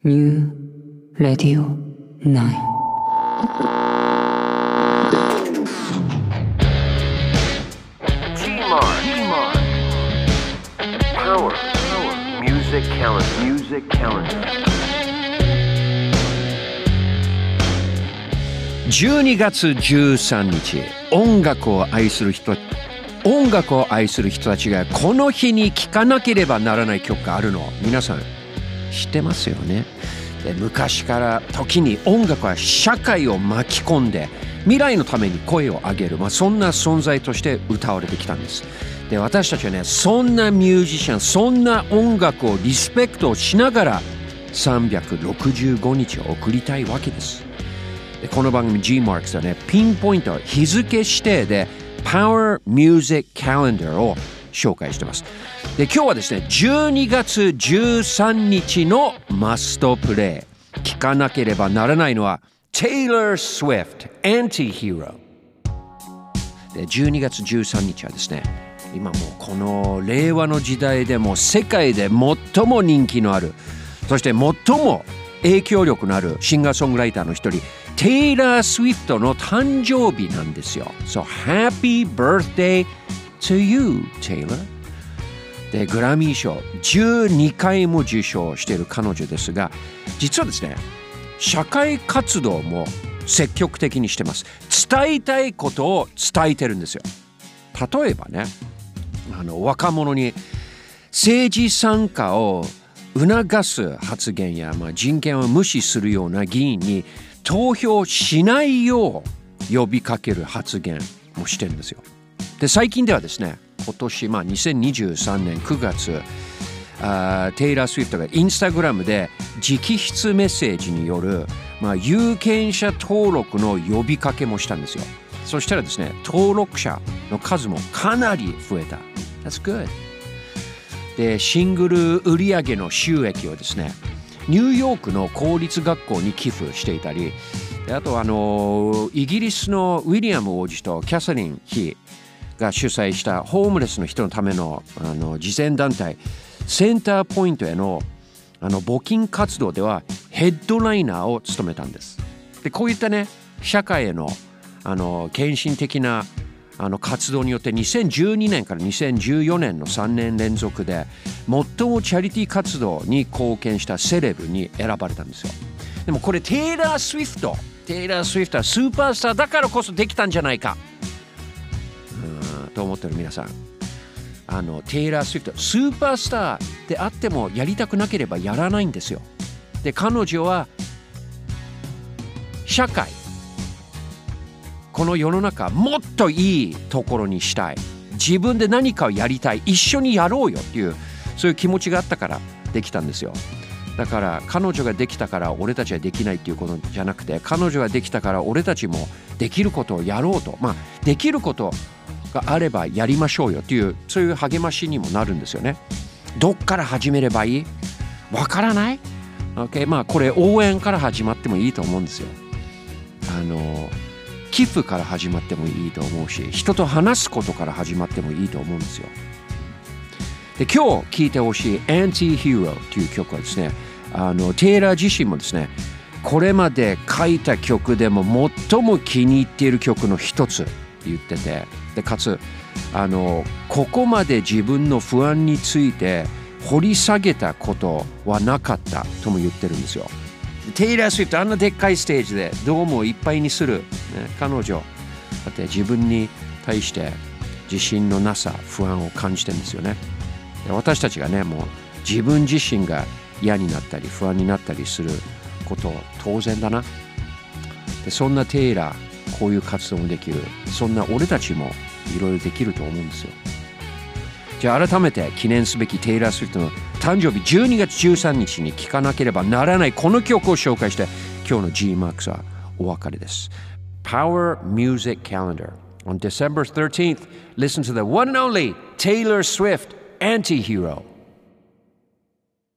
New Radio 9 Power Music Calendar 12月13日、音楽を愛する人たちがこの日に聴かなければならない曲があるの、皆さん知ってますよね。で、昔から時に音楽は社会を巻き込んで未来のために声を上げる、そんな存在として歌われてきたんです。で、私たちはね、そんなミュージシャン、そんな音楽をリスペクトしながら365日を送りたいわけです。で、この番組 G-Marks はね、ピンポイント日付指定で Power Music Calendar を紹介してます。で、今日はですね、12月13日のマストプレイ、聴かなければならないのは Taylor Swift Anti-Hero で、12月13日はですね、今もうこの令和の時代でも世界で最も人気のある、そして最も影響力のあるシンガーソングライターの一人、テイラー・スウィフトの誕生日なんですよ。So happy birthday to you, Taylor. で、グラミー賞12回も受賞している彼女ですが、実はですね、社会活動も積極的にしてます。伝えたいことを伝えてるんですよ。例えばね、若者に政治参加を促す発言や、人権を無視するような議員に投票しないよう呼びかける発言もしてるんですよ。で、最近ではですね、今年2023年9月、テイラー・スウィフトがインスタグラムで直筆メッセージによる、有権者登録の呼びかけもしたんですよ。そしたらですね、登録者の数もかなり増えた。That's good. で、シングル売上の収益をですね、ニューヨークの公立学校に寄付していたり、あとイギリスのウィリアム王子とキャサリン妃が主催したホームレスの人のための慈善団体センターポイントへの募金活動ではヘッドライナーを務めたんです。で、こういったね、社会への献身的な活動によって2012年から2014年の3年連続で最もチャリティー活動に貢献したセレブに選ばれたんですよ。でもこれテイラー・スウィフトはスーパースターだからこそできたんじゃないかと思ってる皆さん、テイラー・スウィフトスーパースターであってもやりたくなければやらないんですよ。で、彼女は社会、この世の中もっといいところにしたい、自分で何かをやりたい、一緒にやろうよっていう、そういう気持ちがあったからできたんですよ。だから彼女ができたから俺たちはできないっていうことじゃなくて、彼女ができたから俺たちもできることをやろうと、できることがあればやりましょうよっていう、そういう励ましにもなるんですよね。どっから始めればいい？わからない？ OK、これ応援から始まってもいいと思うんですよ。寄付から始まってもいいと思うし、人と話すことから始まってもいいと思うんですよ。で、今日聴いてほしい Anti-Hero という曲はですね、テイラー自身もですね、これまで書いた曲でも最も気に入っている曲の一つ言ってて、でかつここまで自分の不安について掘り下げたことはなかったとも言ってるんですよ。テイラー・スウィフト、あんなでっかいステージでドームをいっぱいにする、彼女だって自分に対して自信のなさ、不安を感じてるんですよね。で、私たちがね、もう自分自身が嫌になったり不安になったりすること当然だな。で、そんなテイラー、こういう活動もできる、そんな俺たちもいろいろできると思うんですよ。じゃあ改めて記念すべきテイラー・スウィフトの誕生日12月13日に聴かなければならないこの曲を紹介して今日の G-Marks はお別れです。 Power Music Calendar on December 13th, listen to the one and only Taylor Swift Anti-Hero.